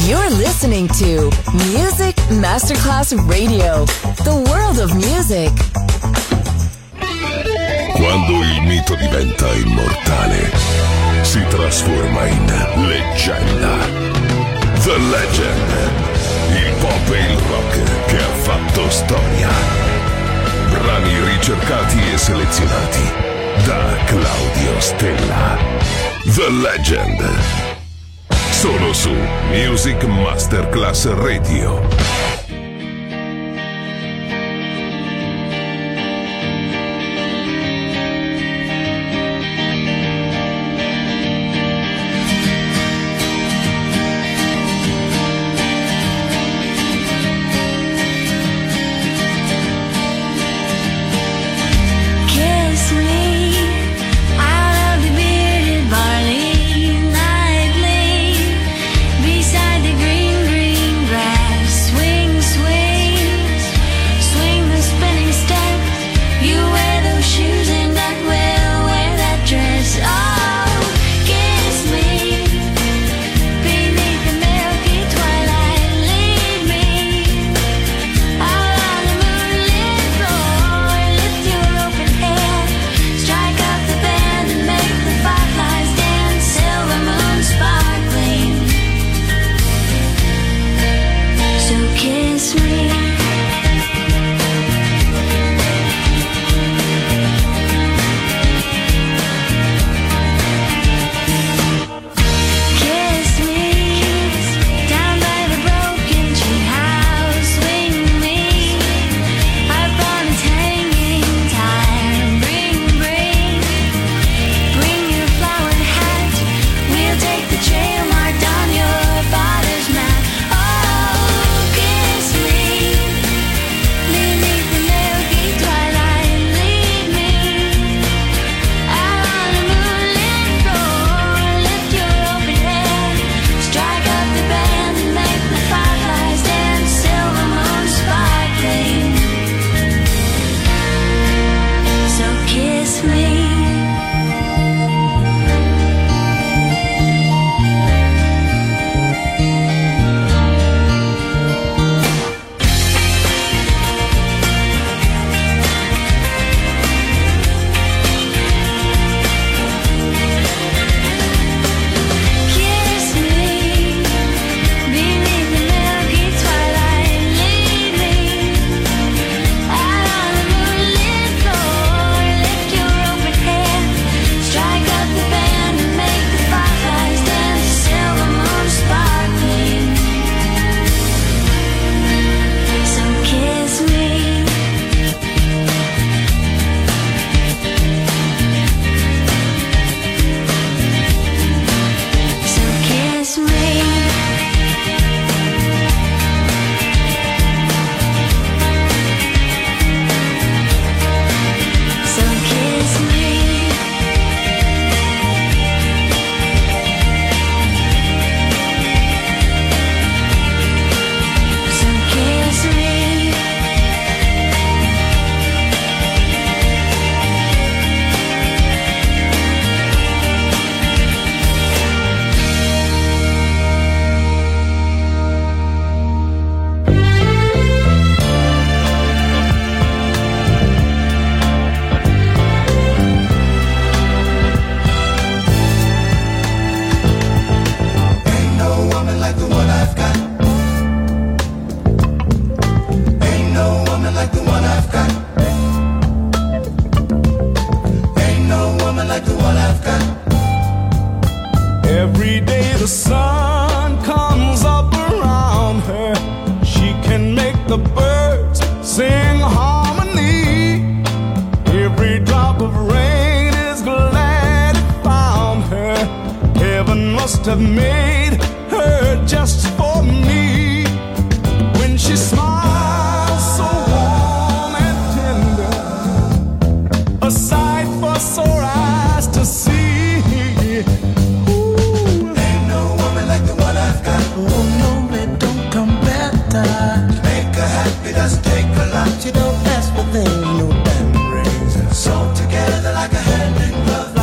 You're listening to Music Masterclass Radio, the world of music. Quando il mito diventa immortale, si trasforma in leggenda. The Legend, il pop e il rock che ha fatto storia. Brani ricercati e selezionati da Claudio Stella. The Legend. Solo su Music Masterclass Radio.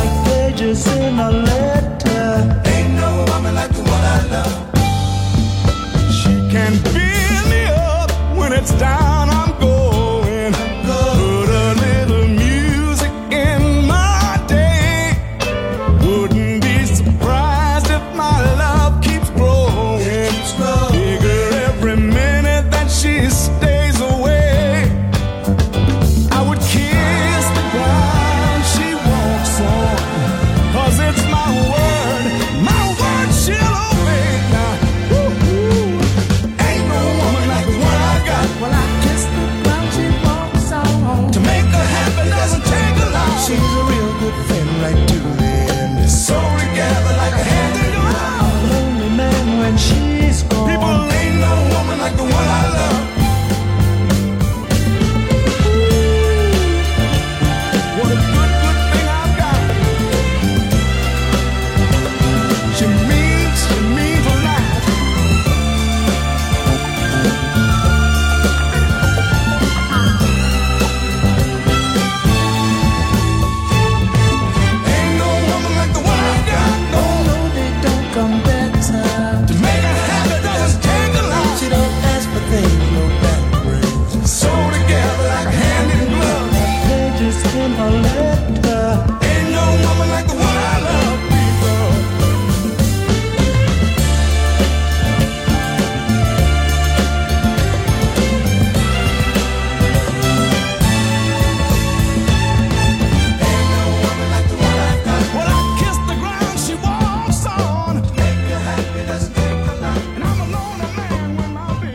In a letter, ain't no woman like the one I love.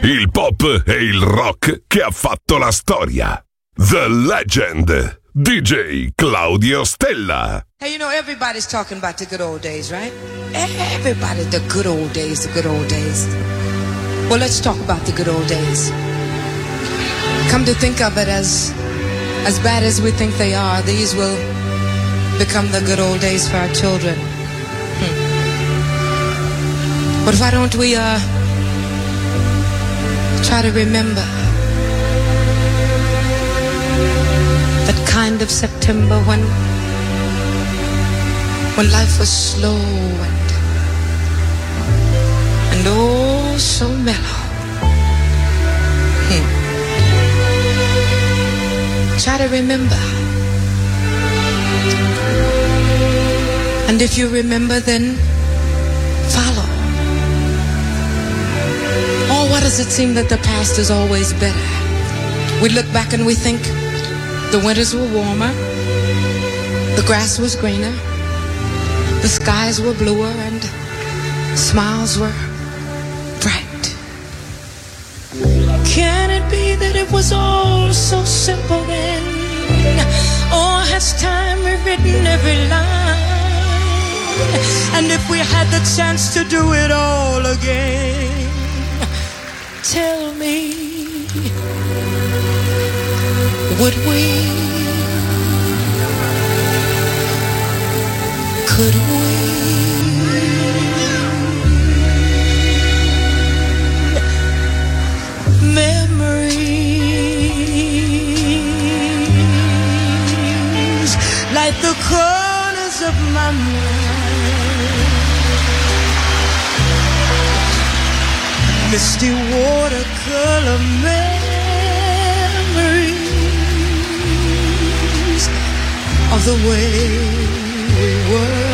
Il pop e il rock che ha fatto la storia. The Legend, DJ Claudio Stella. Hey, you know, everybody's talking about the good old days, right? Everybody, the good old days, the good old days. Well, let's talk about the good old days. Come to think of it, as bad as we think they are, these will become the good old days for our children. But why don't we try to remember that kind of September when life was slow and oh so mellow. Try to remember. And if you remember, then follow. Oh, why does it seem that the past is always better? We look back and we think the winters were warmer, the grass was greener, the skies were bluer, and smiles were bright. Can it be that it was all so simple then? Or has time rewritten every line? And if we had the chance to do it all again, tell me, would we? Could we? Memories like the corners of my mind, misty watercolor memories of the way we were.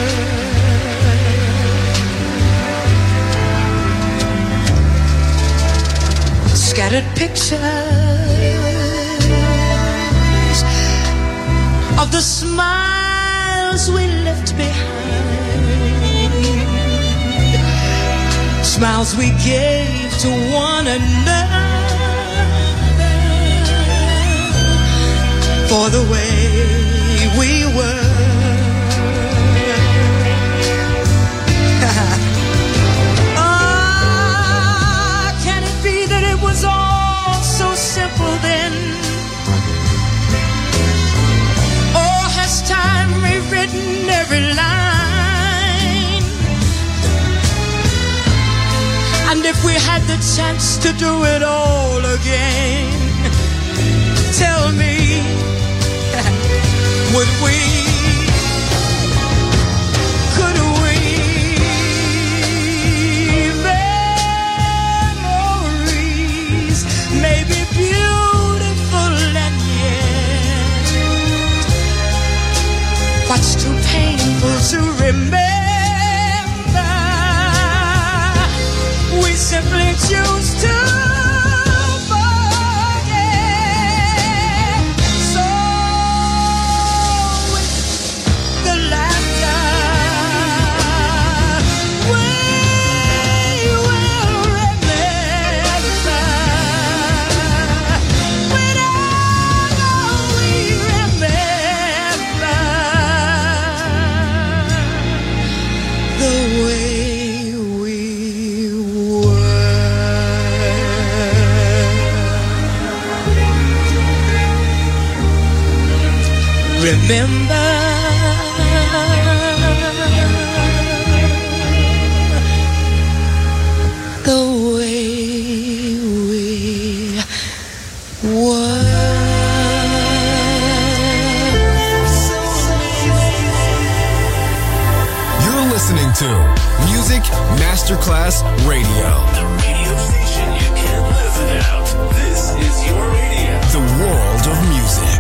Scattered pictures of the smiles we left behind, smiles we gave to one another for the way we were. Can it be that it was all so simple then? Or has time rewritten every line? And if we had the chance to do it all again, tell me, would we? Could we? Memories may be beautiful and yet what's too painful to remember, we simply choose to forget. So with the laughter, we will remember. Whenever we remember the way we were. Remember the way we were. You're listening to Music Masterclass Radio. The radio station you can't live without. This is your radio. The world of music.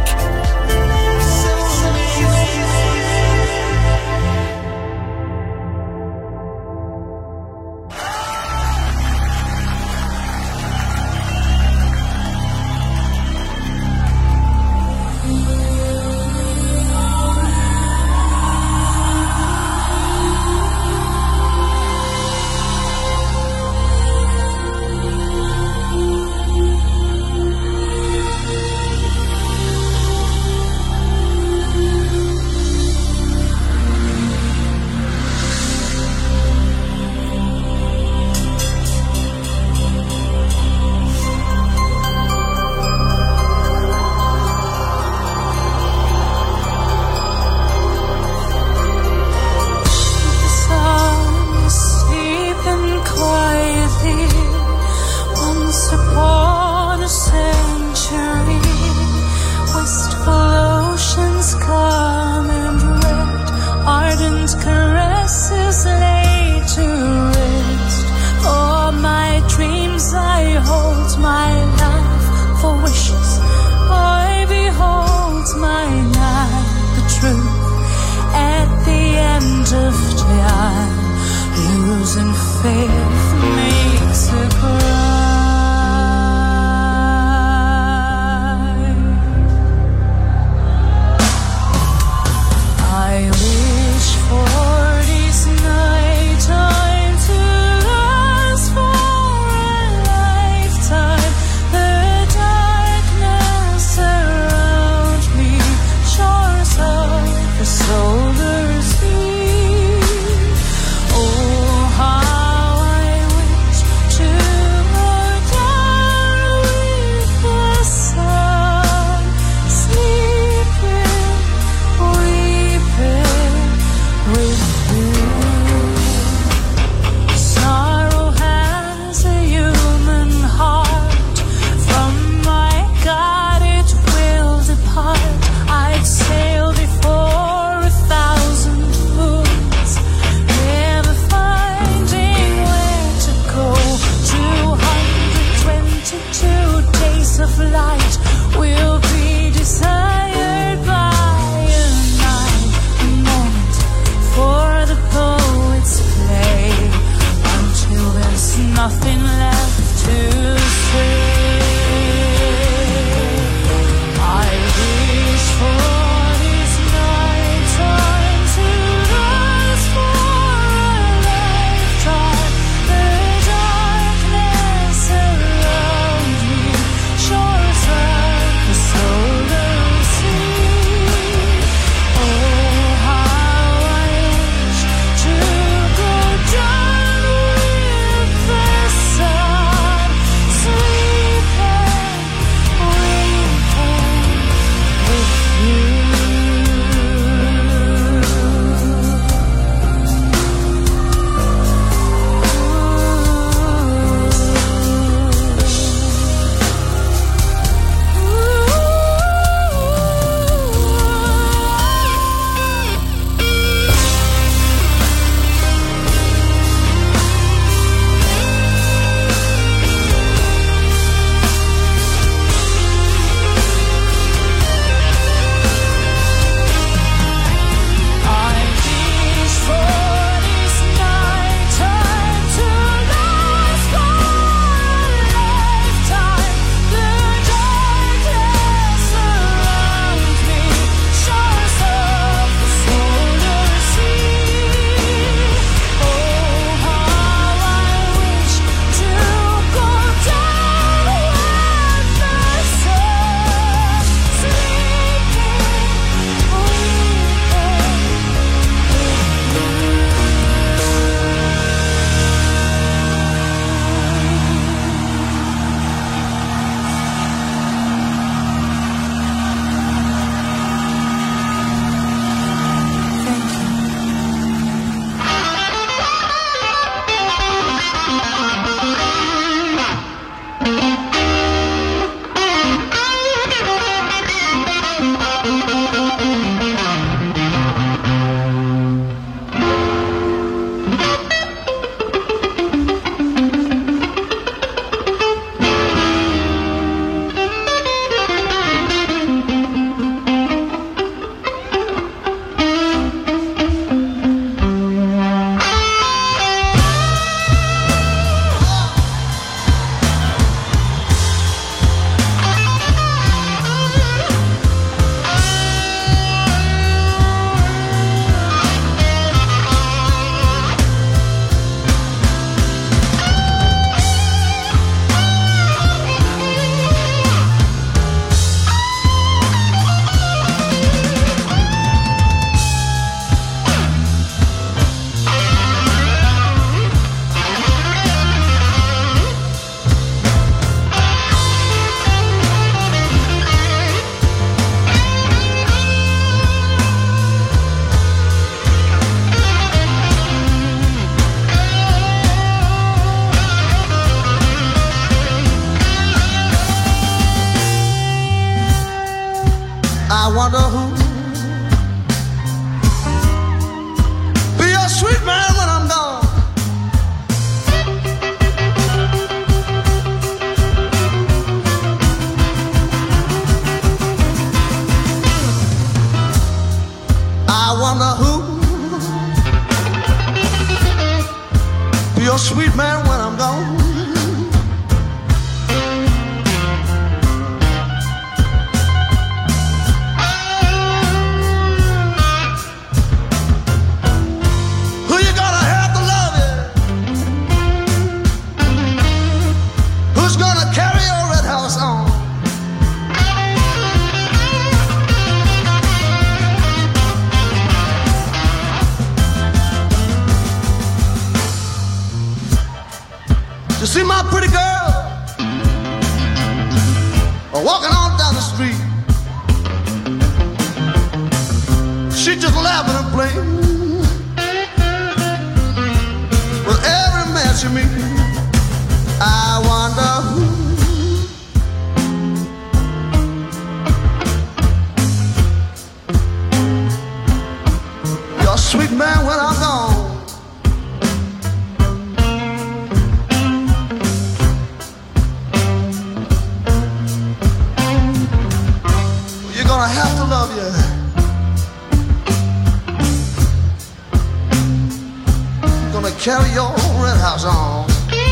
Your sweet I'm gone. Who you gonna have to love you? Who's gonna carry your red house on? You see my pretty girl walking on down the street. She just laughing and playing with every man she meets. I wonder you're a sweet man when I'm gone. I have to love you. I'm gonna carry your red house on.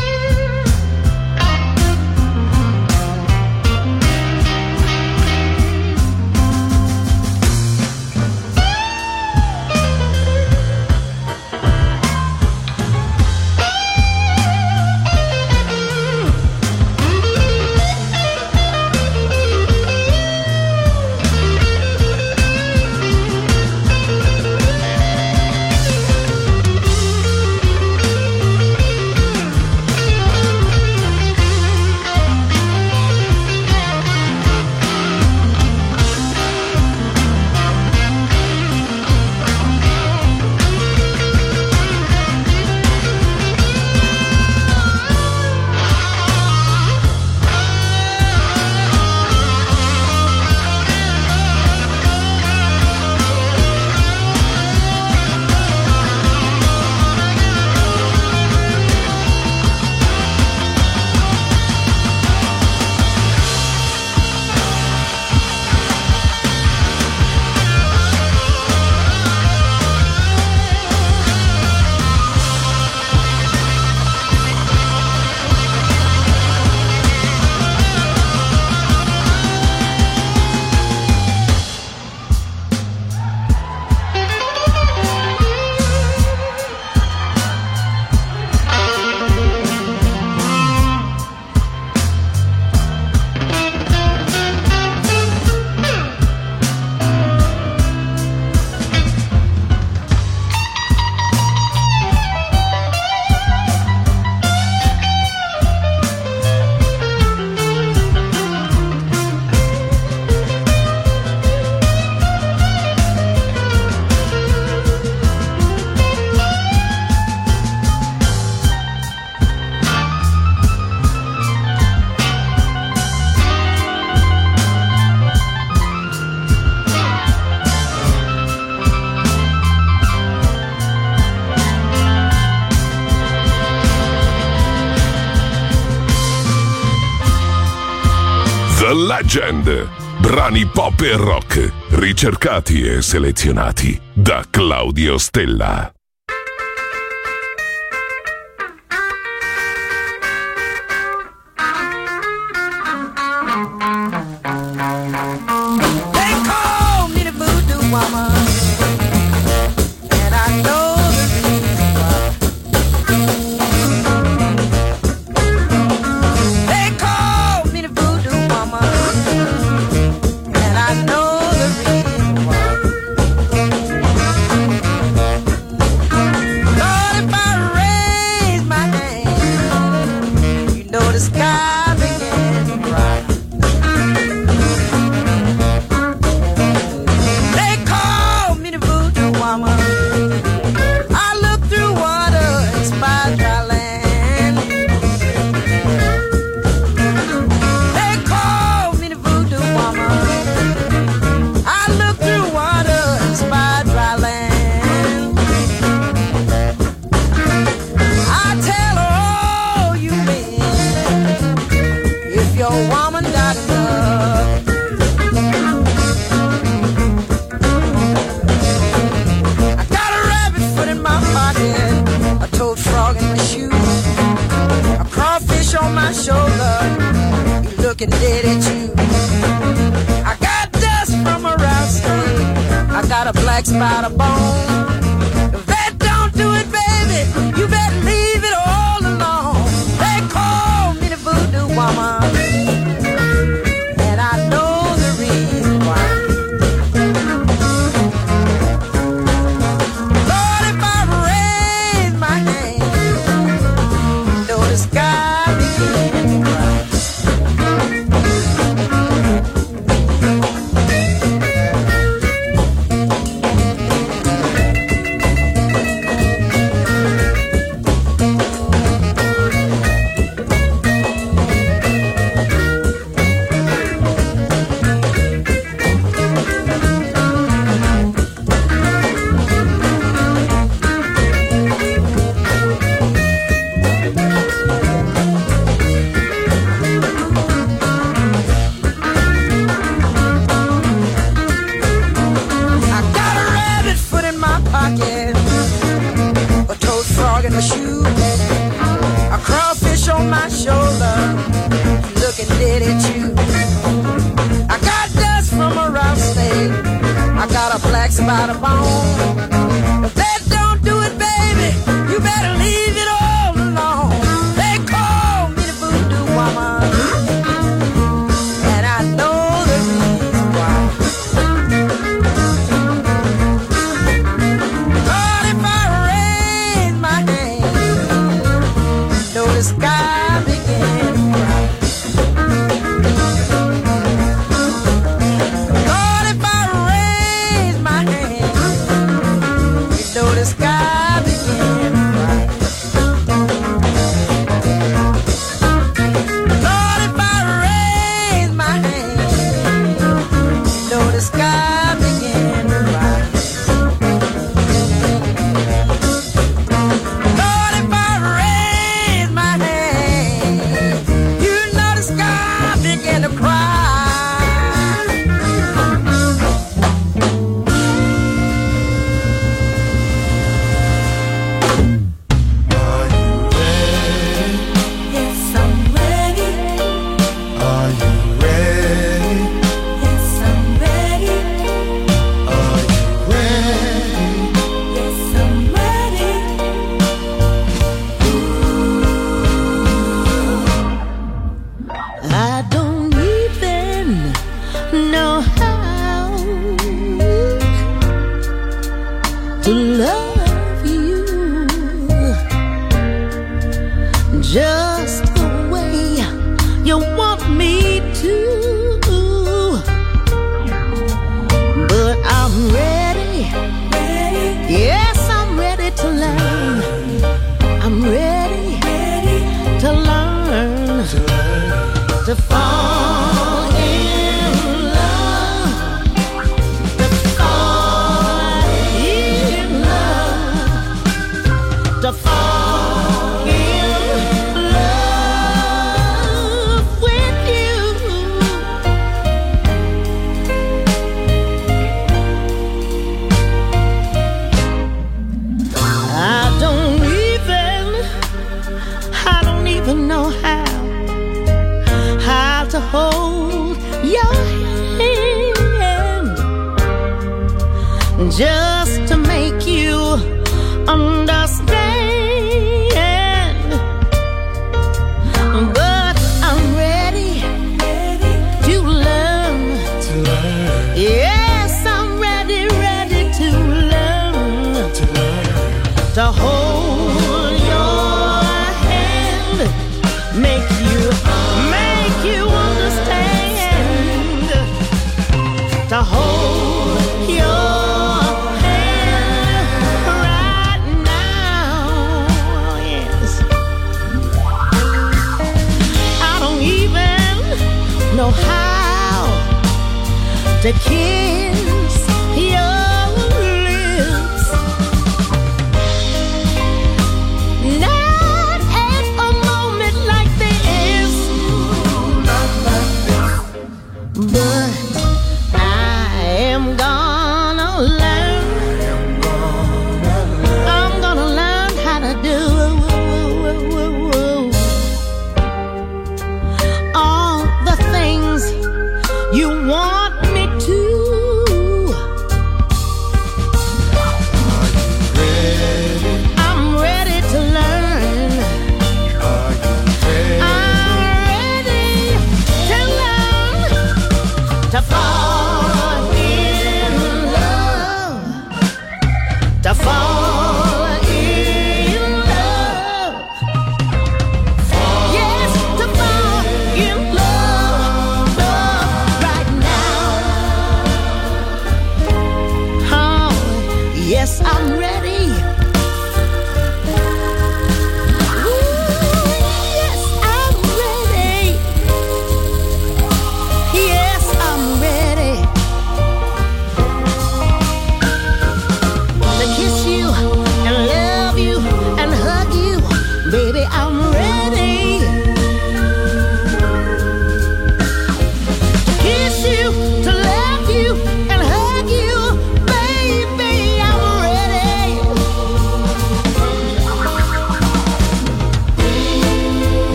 The Legend. Brani pop e rock, ricercati e selezionati da Claudio Stella. They call me the voodoo woman, and I know the reason why. They call me the voodoo woman, and I know the reason why. Lord, if I raise my hand, you know the sky begins to cry. They call me the voodoo woman. I look through water and spy dry land. They call me the voodoo woman. I look through water and spy dry land. I tell her, oh, you men, my shoulder. You're looking dead at you. I got dust from a round stain. I got a black spot of bone. If that don't do it, baby, you better leave it all alone. They call me the voodoo woman, and I know the reason why. Lord, if I raise my hand, know the sky begin to cry. About a bone. If that don't do it, baby, you better leave it all alone. They call me the voodoo woman, and I know the reason why. Lord, if I raise my hand, know the sky begin to cry. The sky began to cry. Lord, if I raise my hand, you know the sky began to cry. Lord, if I raise my hand, you know the sky began to cry. Just to make you understand, but I'm ready to learn. Yes, I'm ready to learn. To hold your hand, make you understand. To hold your know how to kiss your lips. Not at a moment like this, but I am gonna learn. I'm gonna learn how to do.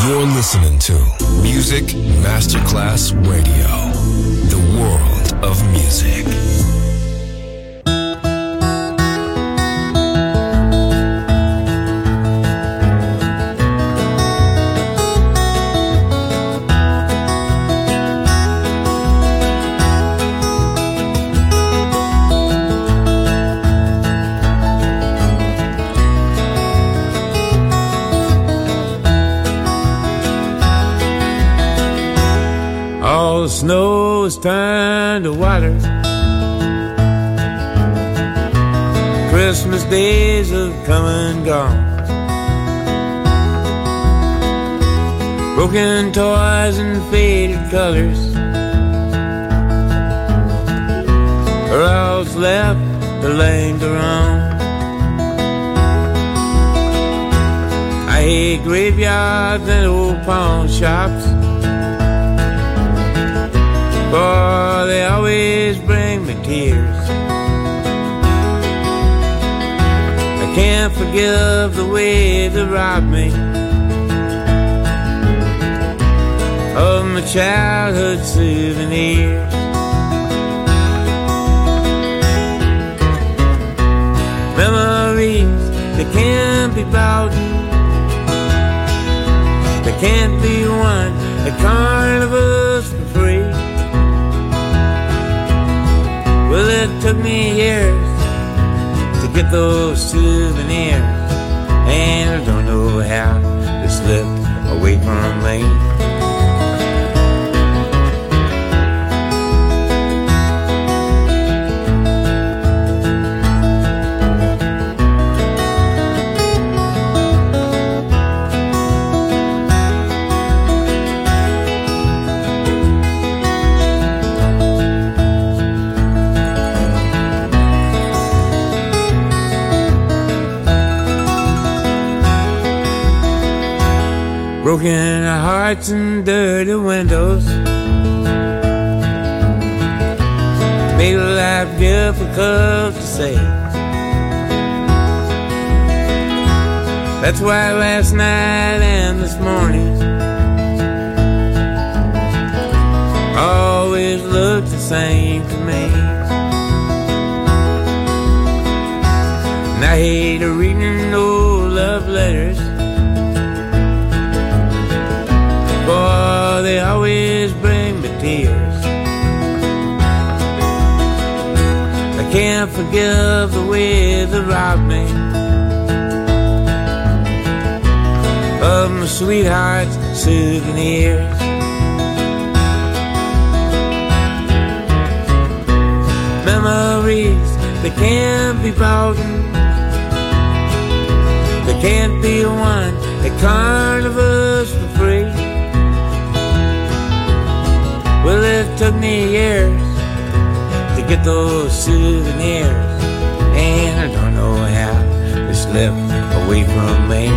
You're listening to Music Masterclass Radio, the world of music. All the snow is turned to water. Christmas days have come and gone. Broken toys and faded colors are all that's left to linger on. I hate graveyards and old pawn shops, for they always bring me tears. I can't forgive the way they robbed me of my childhood souvenirs. Memories, they can't be bought, they can't be won at carnivals for free. Well, it took me years to get those souvenirs, and I don't know how they slipped away from me. Broken hearts and dirty windows make life difficult to say. That's why last night and this morning always look the same to me. And I hate reading old love letters, for they always bring me tears. I can't forgive the way they robbed me of my sweetheart's souvenirs. Memories, they can't be bought, they can't be won at carnivals for free. Well, it took me years to get those souvenirs, and I don't know how they slipped away from me.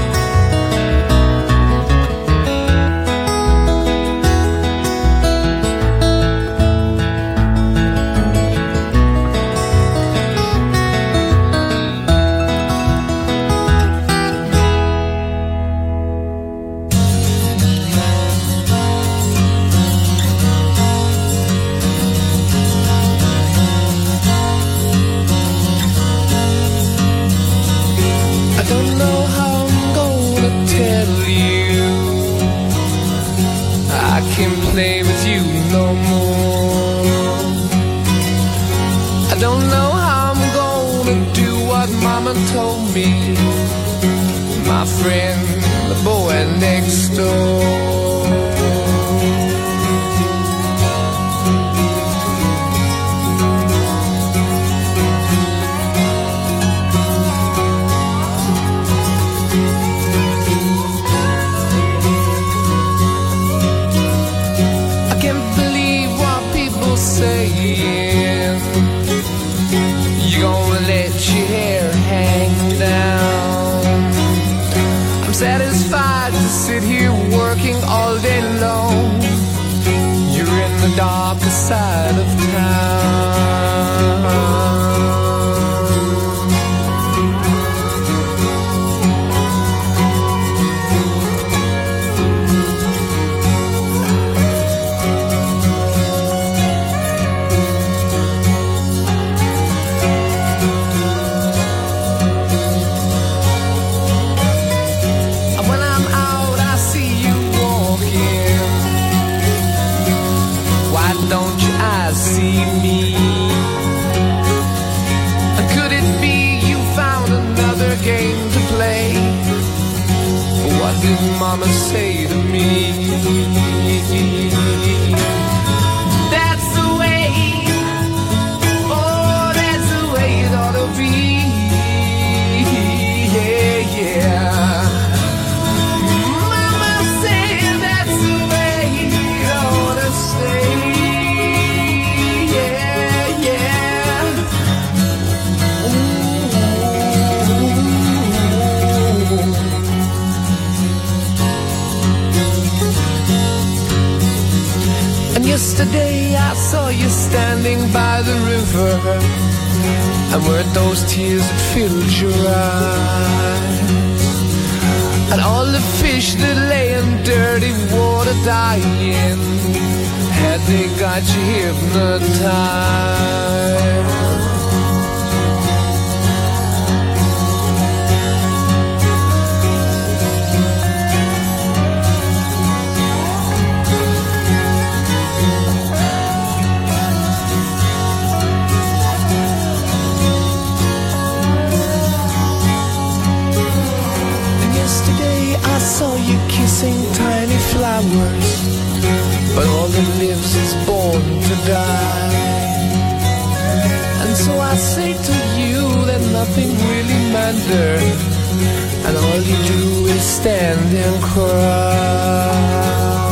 Told me, my friend, the boy next door. I can't believe what people saying. You gonna let your hair hang down. I'm satisfied to sit here working all day long. You're in the darker side of town. did mama say to me? That's the way, oh, that's the way it ought to be. Yeah, yeah. Mama said that's the way it ought to stay. Yeah, yeah. And yesterday I saw you standing by the river, and weren't those tears that filled your eyes? And all the fish that lay in dirty water dying, had they got you hypnotized? I saw you kissing tiny flowers, but all that lives is born to die. And so I say to you that nothing really matters, and all you do is stand and cry.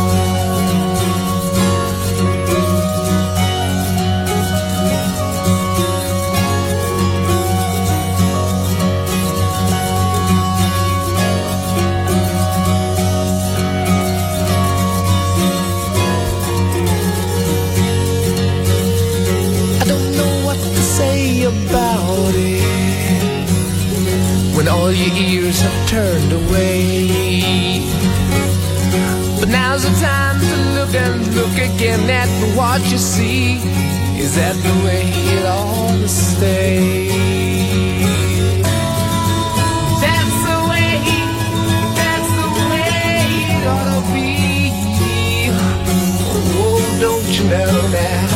About it when all your ears have turned away, but now's the time to look and look again at what you see. Is that the way it ought to stay? That's the way it ought to be. Oh, don't you know now?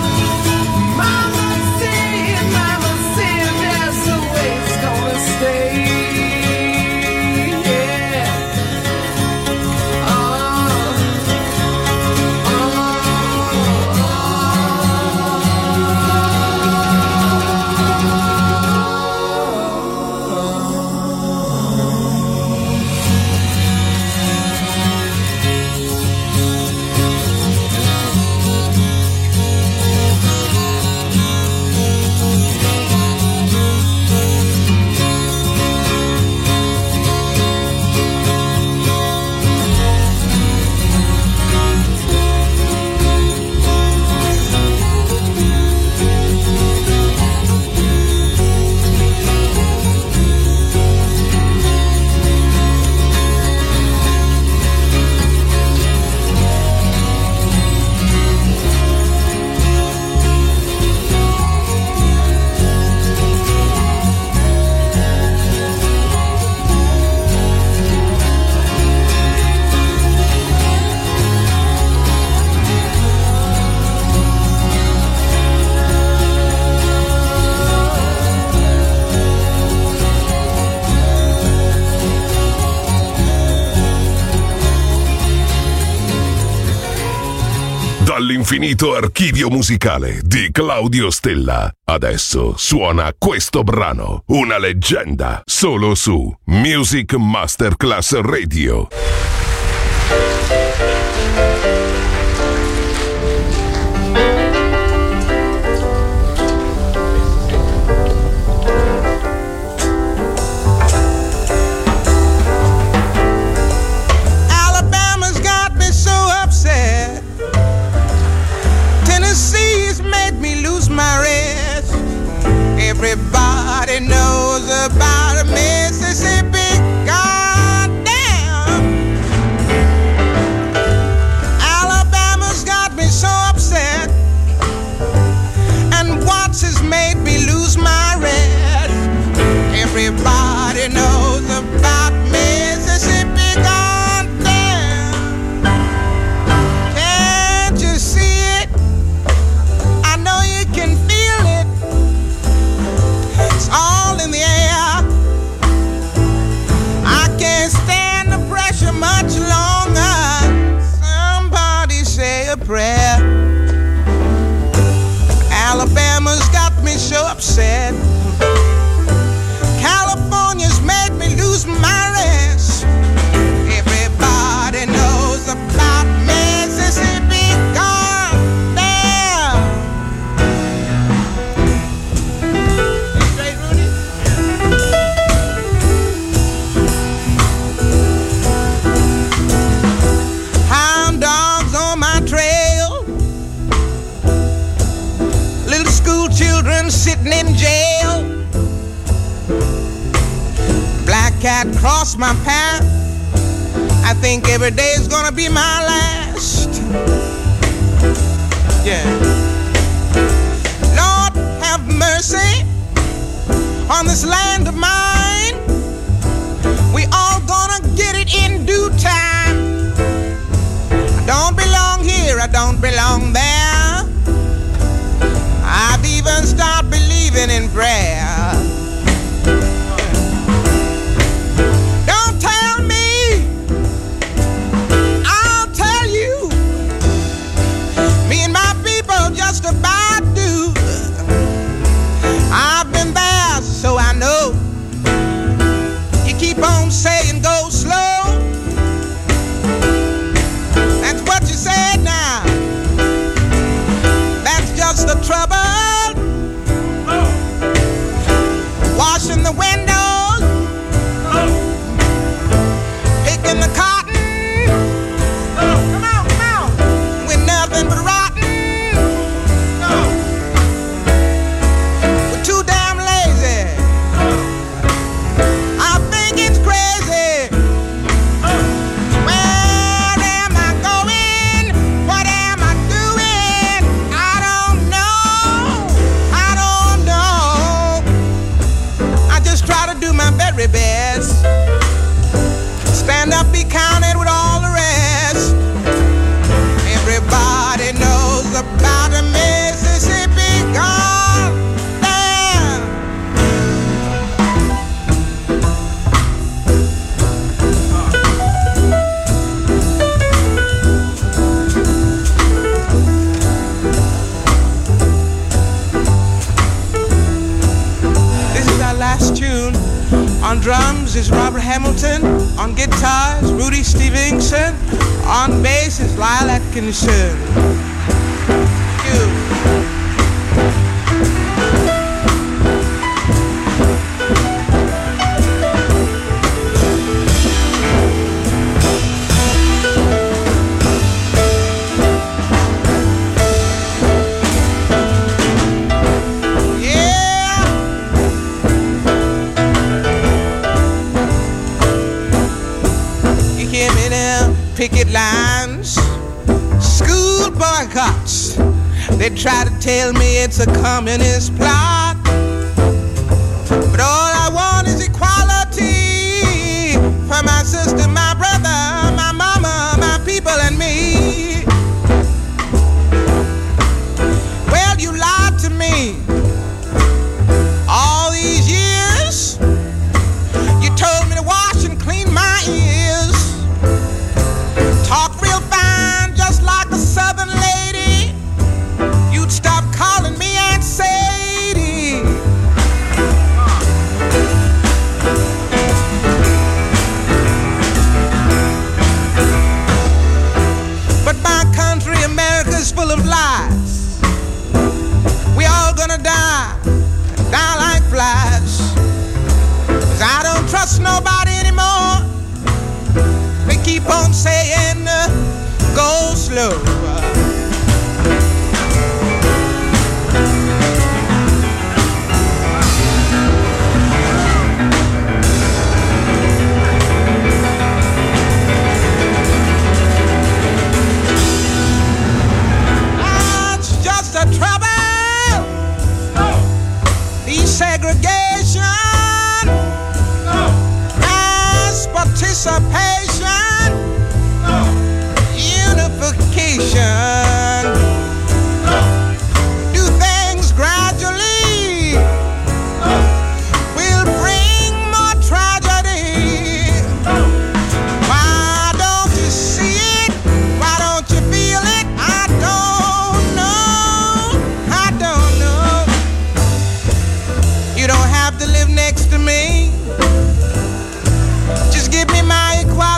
Dall'infinito archivio musicale di Claudio Stella, adesso suona questo brano, una leggenda, solo su Music Masterclass Radio. Everybody knows about Mississippi. Goddamn, Alabama's got me so upset, and Watts has made me lose my rest. Everybody knows about Mississippi. Goddamn, can't you see it? I know you can feel it. It's all in the air. I can't stand the pressure. jail. Black cat crossed my path. I think every day is gonna be my last. Yeah. Lord, have mercy on this land of mine. We all gonna get it in due time. I don't belong here, I don't belong there. I've even started believing in prayer. Don't tell me, I'll tell you. Me and my people just about do. I've been there, so I know. You keep on saying go slow. That's what you said now. That's just the trouble. Washing the windows, picking the cotton. Come on, with nothing but rotten. We're too damn lazy. I think it's crazy. Where am I going? What am I doing? I don't know. I don't know. I just try to do my very best. Stand up, be counted with all the rest. Everybody knows about the Mississippi Gulf. This is our last tune. On drums is Robert Hamilton. On guitars, Rudy Stevenson. On bass is Lyle Atkinson. Picket lines, school boycotts. They try to tell me it's a communist plot, but all I want is equality for my sister, my brother, my mama, my people, and me. Well, you lied to me all these years. You told me to wash and clean my ears. Talk real fine, just like a southern lady. You'd stop calling me Aunt Sadie. But my country, America's full of lies. We all gonna die like flies. 'Cause I don't trust nobody anymore. They keep on saying, go slow. That's just a trouble. Desegregation. Mass participation. Unification. Do things gradually. Will bring more tragedy. Why don't you see it? Why don't you feel it? I don't know. I don't know. You don't have to live next to me. Just give me my equality.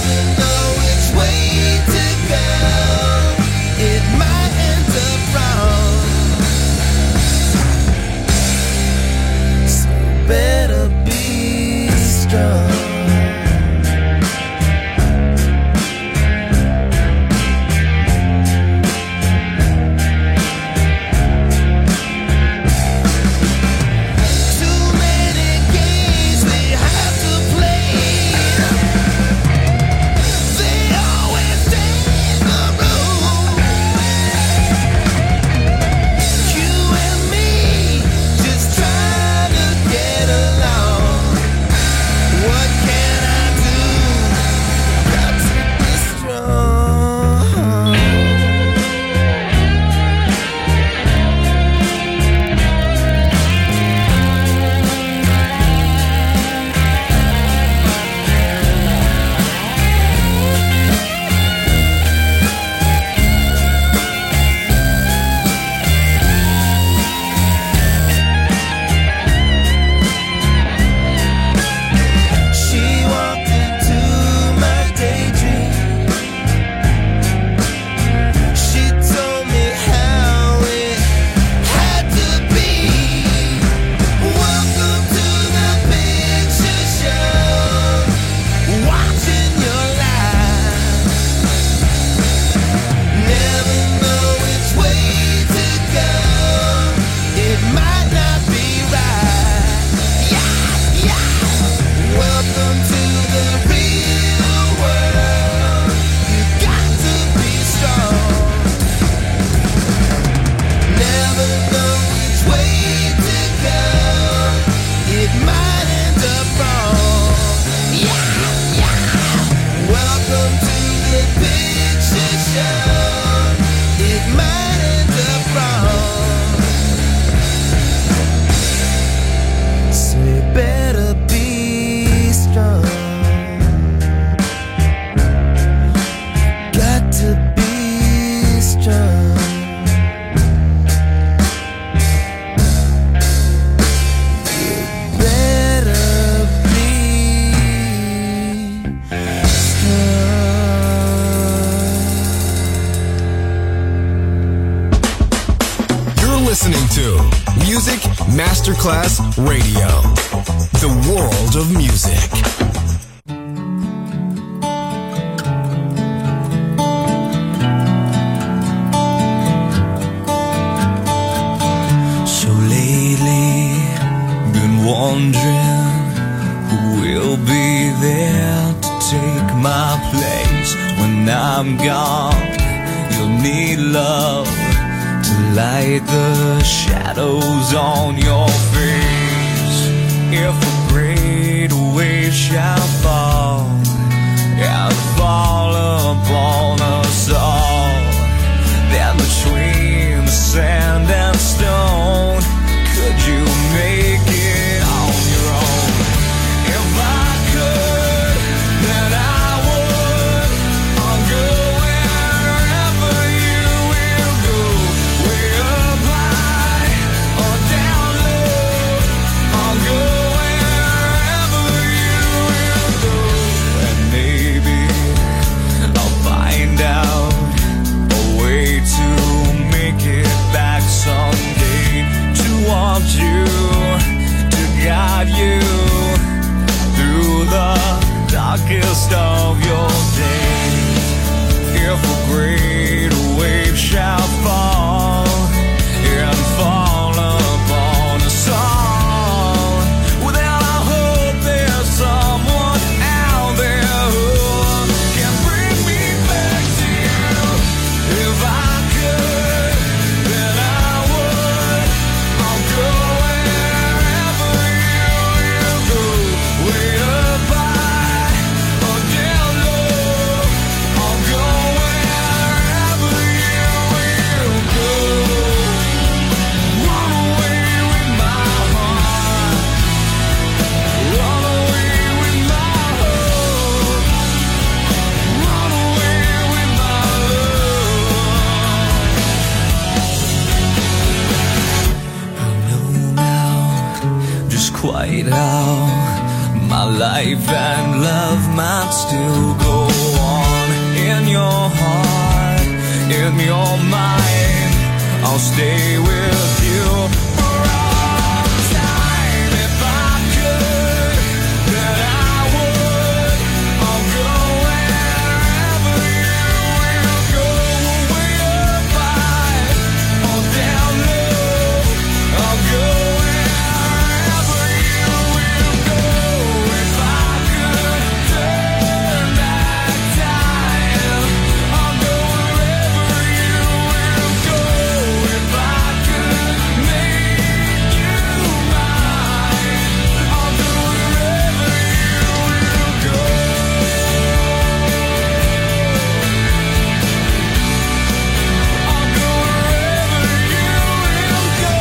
listening to Music Masterclass Radio, the world of music. So lately, been wondering who will be there to take my place when I'm gone. You'll need love to light the shadows on your face. If a great wave shall fall and fall upon us all, then between the sand and stone, could you make it on your own? If I could, then I would. I'll go wherever you will go, way up high or down low. I'll go wherever you will go, and maybe I'll find out a way to make it back someday, to want you, to guide you through the darkest of your days. If a great wave shall fall and fall upon us all, well then I hope there's someone out there who can bring me back to you. If I could, then I would. I'll go wherever you will go, way up high or down low. I'll go wherever you will go. safe and love might still go on. In your heart, in your mind, I'll stay with you for all time. If I could, then I would. I'll go wherever you will go. Way up high or down low, I'll go wherever you will go. If I could turn back time, I'll go wherever you will go. If I could make you mine, I'll go wherever you will go. I'll go wherever you will go.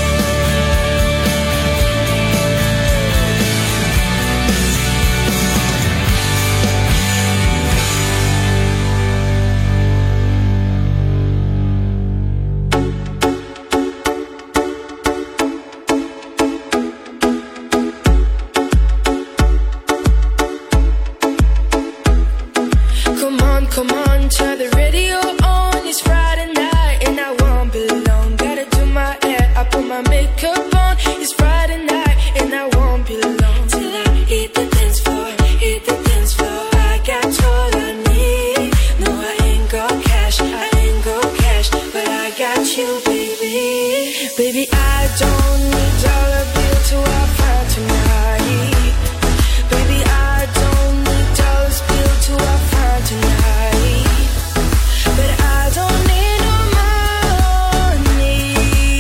Come on, turn the radio on. It's Friday night and I won't be long. Gotta do my hair, I put my makeup on. It's Friday night and I won't be long. Till I hit the dance floor, hit the dance floor. I got all I need. No, I ain't got cash, I ain't got cash, but I got you, baby. Baby, I don't need dollar bill to have fun tonight. Baby, I don't need dollars bill to have fun tonight. But I don't need no money,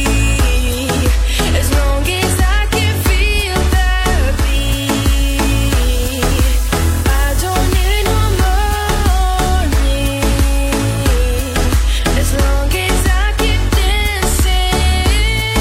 as long as I can feel the beat. I don't need no money, as long as I keep dancing.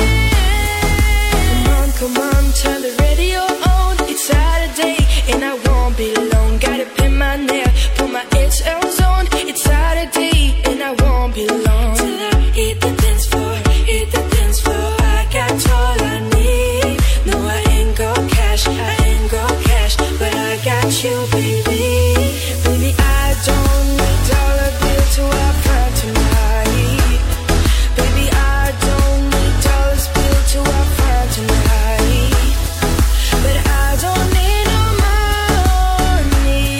Come on, turn the radio on. It's Saturday and I won't be long. Gotta pin my nail, put my HLs on. It's Saturday and I won't be long. Till I hit the dance floor, hit the dance floor. I got all I need. No, I ain't got cash, I ain't got cash, but I got you, baby. Baby, I don't need dollar bill to have fun tonight. Baby, I don't need dollars bill to have fun tonight. But I don't need no money,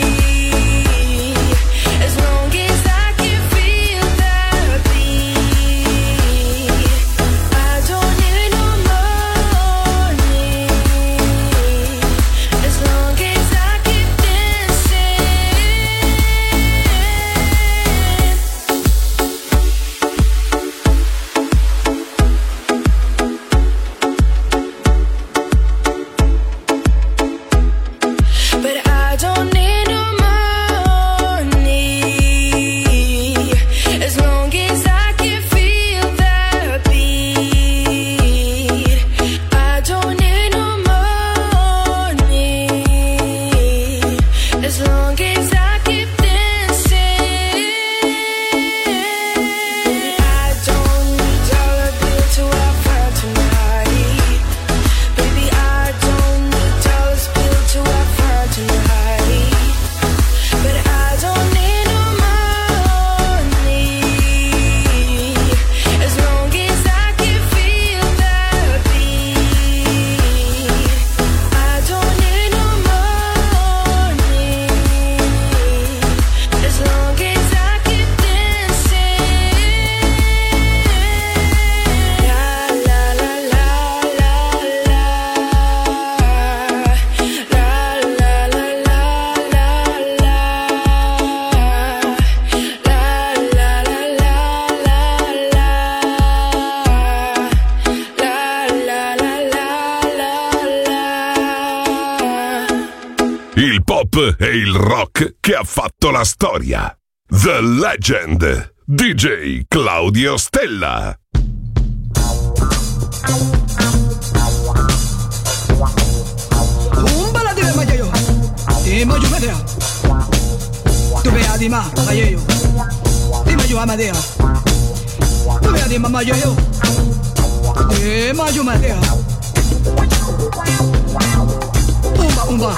as long as I can feel the beat. I don't need no money, as long as I keep dancing. But I don't need no money, as long as I can feel the beat. I don't need no money, as long as I keep dancing. Baby, I don't need dollar bill to have fun tonight. Baby, I don't need dollars bill to have fun tonight. But I don't need no money, as long as I can feel the beat. I don't need no money, as long as I keep dancing. La la la la la la. La la la la la la. La la la la la la. La la la la la. Il pop e il rock che ha fatto la storia. The Legend. DJ Claudio Stella. Un baladile mayo, di mayo medea. Tu vea di ma mayo, di mayo amadea. Tu vea di ma mayo, di mayo madea. Umba umba.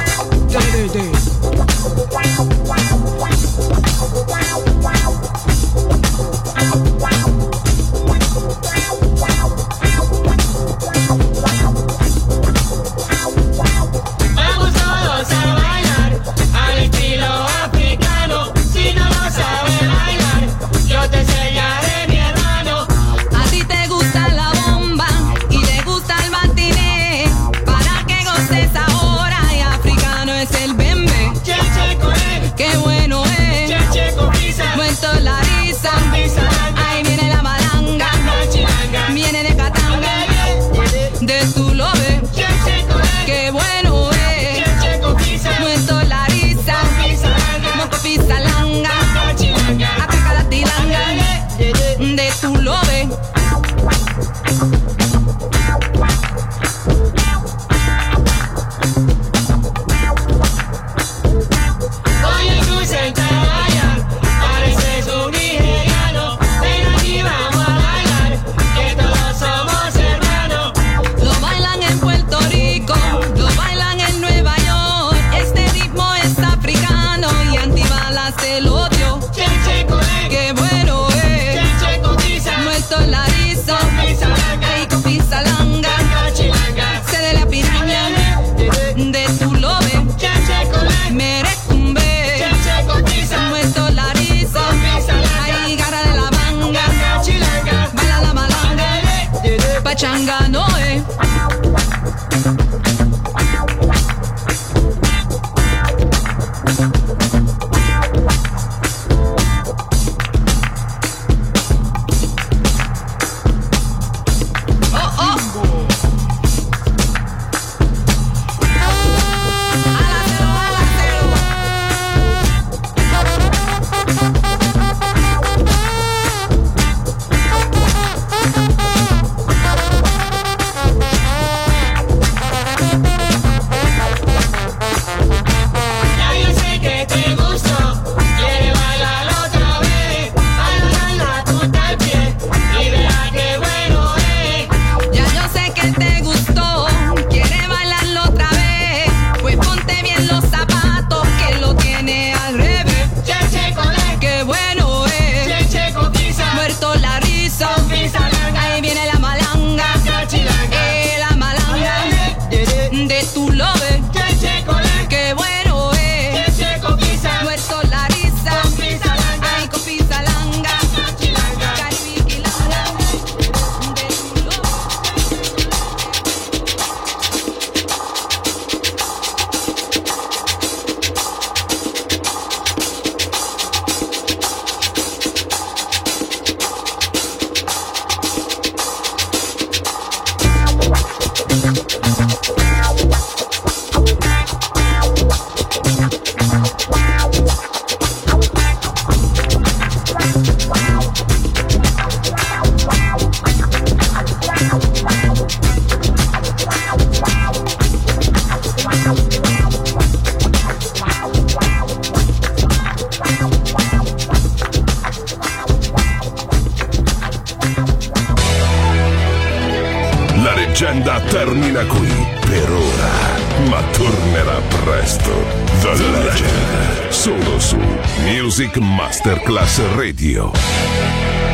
leggenda termina qui per ora, ma tornerà presto. The Legend, solo su Music Masterclass Radio.